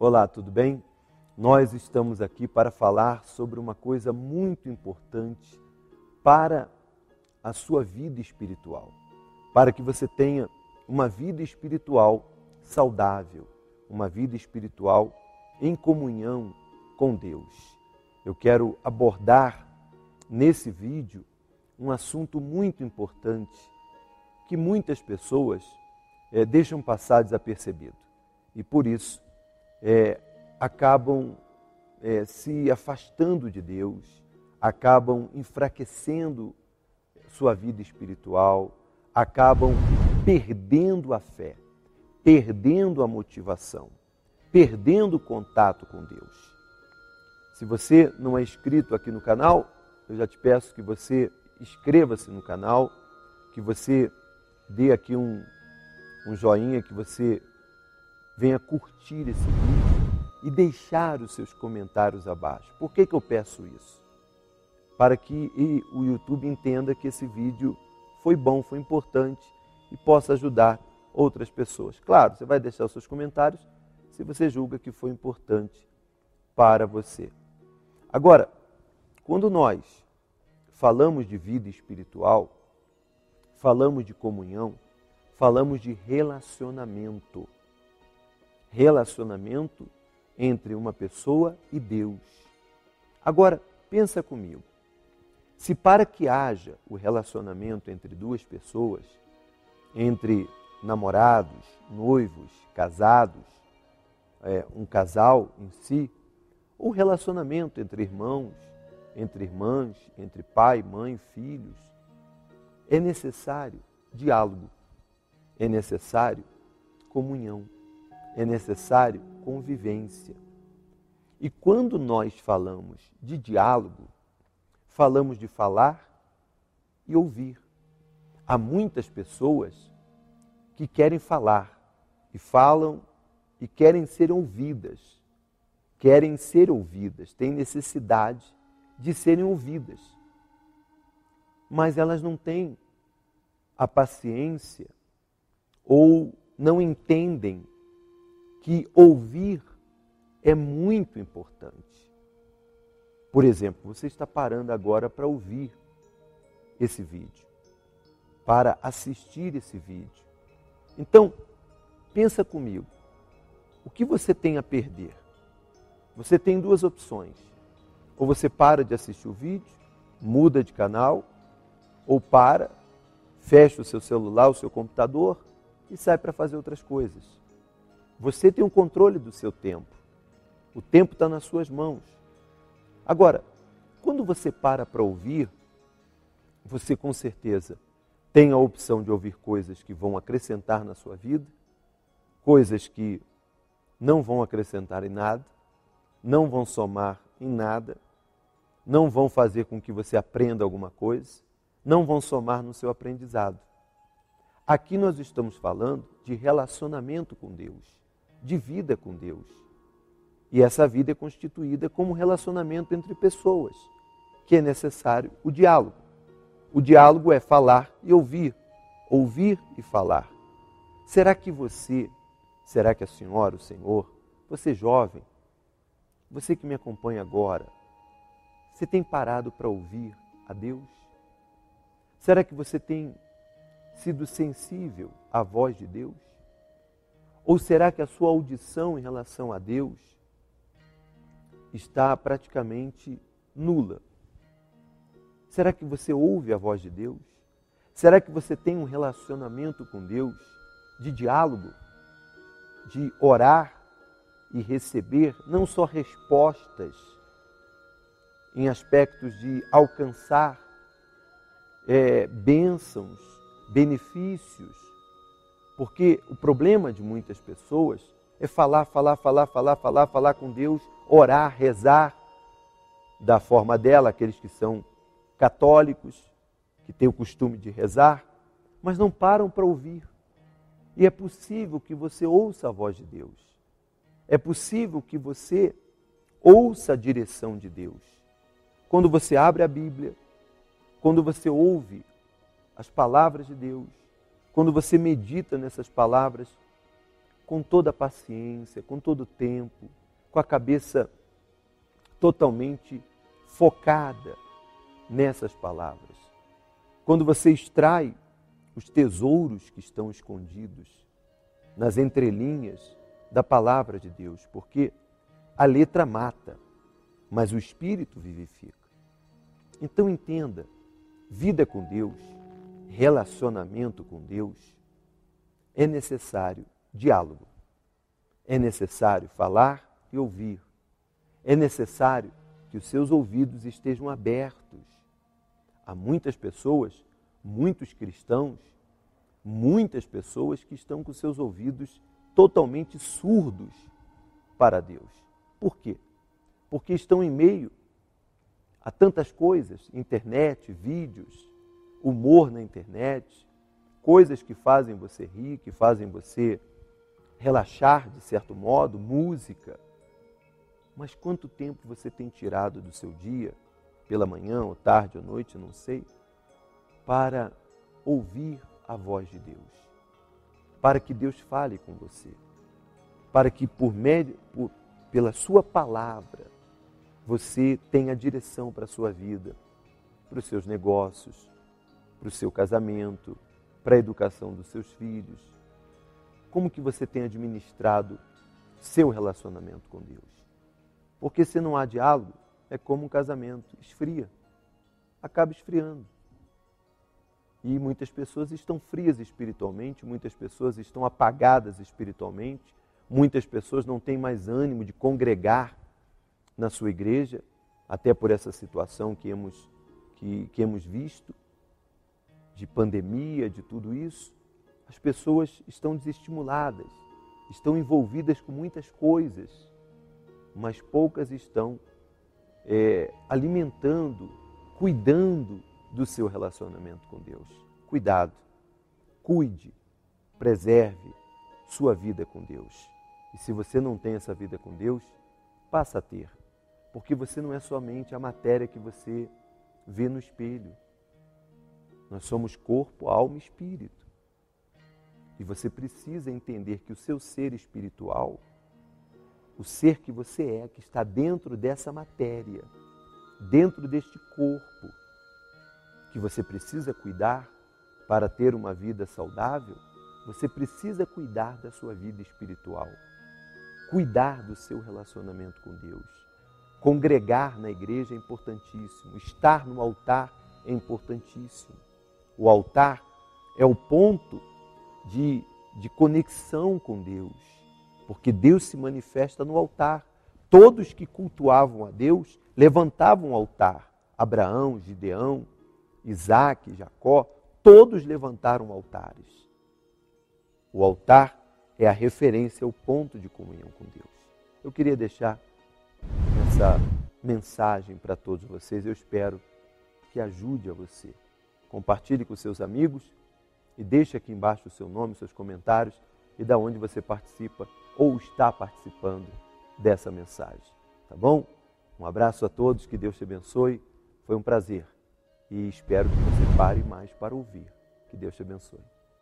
Olá, tudo bem? Nós estamos aqui para falar sobre uma coisa muito importante para a sua vida espiritual, para que você tenha uma vida espiritual saudável, uma vida espiritual em comunhão com Deus. Eu quero abordar nesse vídeo um assunto muito importante que muitas pessoas deixam passar desapercebido e por isso acabam se afastando de Deus, acabam enfraquecendo sua vida espiritual, acabam perdendo a fé, perdendo a motivação, perdendo o contato com Deus. Se você não é inscrito aqui no canal, eu já te peço que você inscreva-se no canal, que você dê aqui um joinha, que você venha curtir esse vídeo e deixar os seus comentários abaixo. Por que eu peço isso? Para que o YouTube entenda que esse vídeo foi bom, foi importante e possa ajudar outras pessoas. Claro, você vai deixar os seus comentários se você julga que foi importante para você. Agora, quando nós falamos de vida espiritual, falamos de comunhão, falamos de relacionamento. Relacionamento entre uma pessoa e Deus. Agora, pensa comigo. Se para que haja o relacionamento entre duas pessoas, entre namorados, noivos, casados, um casal em si, ou relacionamento entre irmãos, entre irmãs, entre pai, mãe, filhos, é necessário diálogo, é necessário comunhão, é necessário convivência. E quando nós falamos de diálogo, falamos de falar e ouvir. Há muitas pessoas que querem falar e falam e querem ser ouvidas. Querem ser ouvidas, têm necessidade de serem ouvidas. Mas elas não têm a paciência ou não entendem que ouvir é muito importante. Por exemplo, você está parando agora para ouvir esse vídeo, para assistir esse vídeo. Então, pensa comigo, o que você tem a perder? Você tem duas opções. Ou você para de assistir o vídeo, muda de canal, ou fecha o seu celular, o seu computador e sai para fazer outras coisas. Você tem o controle do seu tempo. O tempo está nas suas mãos. Agora, quando você para ouvir, você com certeza tem a opção de ouvir coisas que vão acrescentar na sua vida, coisas que não vão acrescentar em nada, não vão somar em nada, não vão fazer com que você aprenda alguma coisa, não vão somar no seu aprendizado. Aqui nós estamos falando de relacionamento com Deus, de vida com Deus. E essa vida é constituída como relacionamento entre pessoas, que é necessário o diálogo. O diálogo é falar e ouvir e falar. Será que a senhora, o senhor, você jovem, você que me acompanha agora, você tem parado para ouvir a Deus? Será que você tem sido sensível à voz de Deus? Ou será que a sua audição em relação a Deus está praticamente nula? Será que você ouve a voz de Deus? Será que você tem um relacionamento com Deus de diálogo, de orar e receber não só respostas em aspectos de alcançar bênçãos, benefícios? Porque o problema de muitas pessoas é falar com Deus, orar, rezar da forma dela, aqueles que são católicos, que têm o costume de rezar, mas não param para ouvir. E é possível que você ouça a voz de Deus. É possível que você ouça a direção de Deus. Quando você abre a Bíblia, quando você ouve as palavras de Deus, quando você medita nessas palavras, com toda a paciência, com todo o tempo, com a cabeça totalmente focada nessas palavras. Quando você extrai os tesouros que estão escondidos nas entrelinhas da palavra de Deus, porque a letra mata, mas o espírito vivifica. Então entenda, vida com Deus, relacionamento com Deus, é necessário diálogo. É necessário falar e ouvir. É necessário que os seus ouvidos estejam abertos. Há muitas pessoas, muitos cristãos, muitas pessoas que estão com seus ouvidos totalmente surdos para Deus. Por quê? Porque estão em meio a tantas coisas, internet, vídeos, humor na internet, coisas que fazem você rir, que fazem você relaxar de certo modo, música. Mas quanto tempo você tem tirado do seu dia, pela manhã, ou tarde, ou noite, não sei, para ouvir a voz de Deus? Para que Deus fale com você. Para que pela sua palavra, você tenha direção para a sua vida, para os seus negócios, para o seu casamento, para a educação dos seus filhos. Como que você tem administrado seu relacionamento com Deus? Porque se não há diálogo, é como um casamento, esfria, acaba esfriando. E muitas pessoas estão frias espiritualmente, muitas pessoas estão apagadas espiritualmente, muitas pessoas não têm mais ânimo de congregar na sua igreja, até por essa situação que hemos visto, de pandemia, de tudo isso. As pessoas estão desestimuladas, estão envolvidas com muitas coisas, mas poucas estão alimentando, cuidando do seu relacionamento com Deus. Cuidado, cuide, preserve sua vida com Deus. E se você não tem essa vida com Deus, passa a ter. Porque você não é somente a matéria que você vê no espelho. Nós somos corpo, alma e espírito. E você precisa entender que o seu ser espiritual, o ser que você é, que está dentro dessa matéria, dentro deste corpo, que você precisa cuidar para ter uma vida saudável, você precisa cuidar da sua vida espiritual, cuidar do seu relacionamento com Deus. Congregar na igreja é importantíssimo, estar no altar é importantíssimo. O altar é o ponto de conexão com Deus, porque Deus se manifesta no altar. Todos que cultuavam a Deus levantavam o altar. Abraão, Gideão, Isaac, Jacó, todos levantaram altares. O altar é a referência, o ponto de comunhão com Deus. Eu queria deixar essa mensagem para todos vocês. Eu espero que ajude a você. Compartilhe com seus amigos e deixe aqui embaixo o seu nome, seus comentários e da onde você participa ou está participando dessa mensagem. Tá bom? Um abraço a todos, que Deus te abençoe. Foi um prazer e espero que você pare mais para ouvir. Que Deus te abençoe.